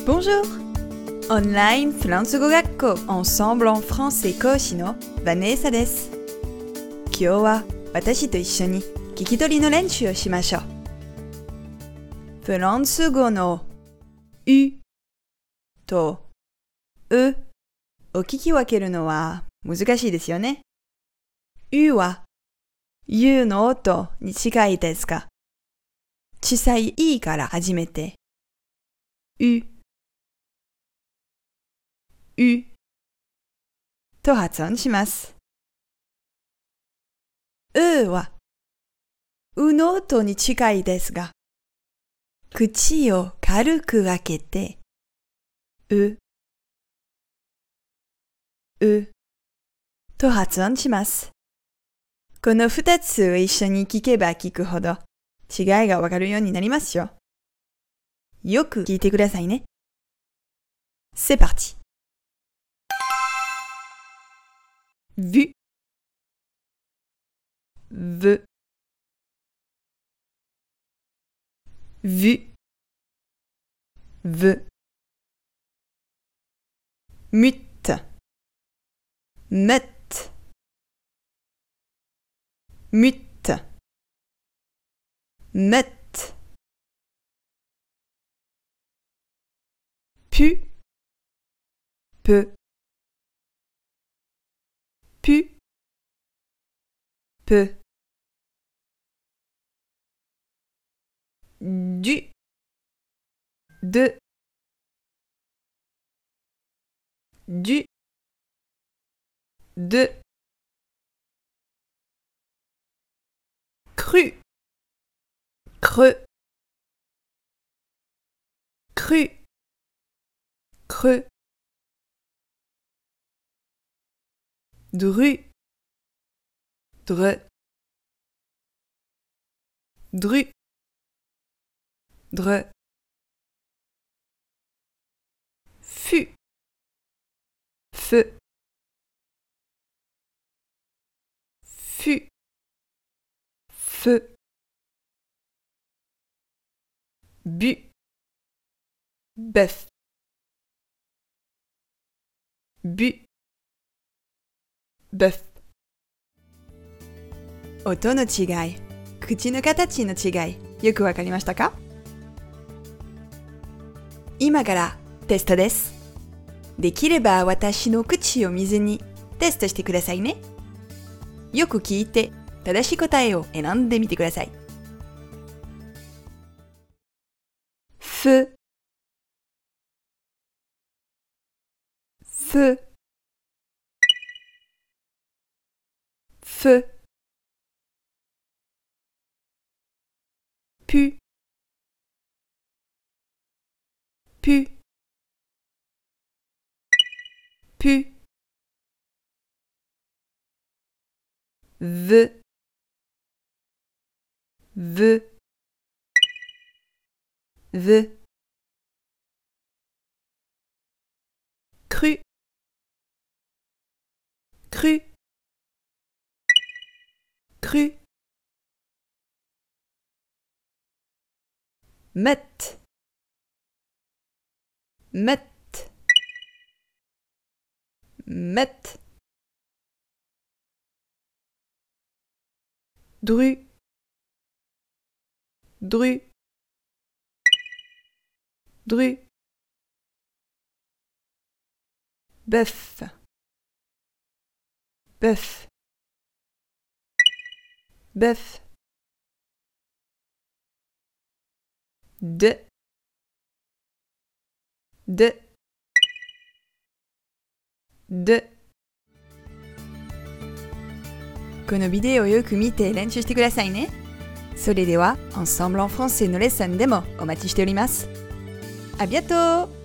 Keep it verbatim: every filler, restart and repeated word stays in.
Bonjour! オンラインフランス語学校 Ensemble en français 講師のヴァネーサです。今日は私と一緒に聞き取りの練習をしましょう。フランス語の U と U を聞き分けるのは難しいですよね。U は U の音に近いですが、小さい E から始めて U U と発音します。U は U の音に近いですが、口を軽く開けて U U と発音します。この二つを一緒に聞けば聞くほど違いがわかるようになりますよ。よく聞いてくださいね。C'est parti! Vu Ve Vu Ve Mute Meute Mute Meute Pu Peu Pu Peu Du De Du De Cru Creux Cru Creux Dru Dre Dru Dre Fu Feu Fu Feu Bu Bœuf Bu Bœuf 音の違い、口の形の違い、よくわかりましたか？今からテストです。できれば私の口を見ずにテストしてくださいね。よく聞いて正しい答えを選んでみてください。ふふふpu pu pu veut veut veut cru cru cru Meute Meute Meute Dru Dru Dru Bœuf Bœuf Bœuf De De De このビデオをよく見て練習してくださいね。それでは、Ensemble en françaisのレッスンでもお待ちしております。À bientôt!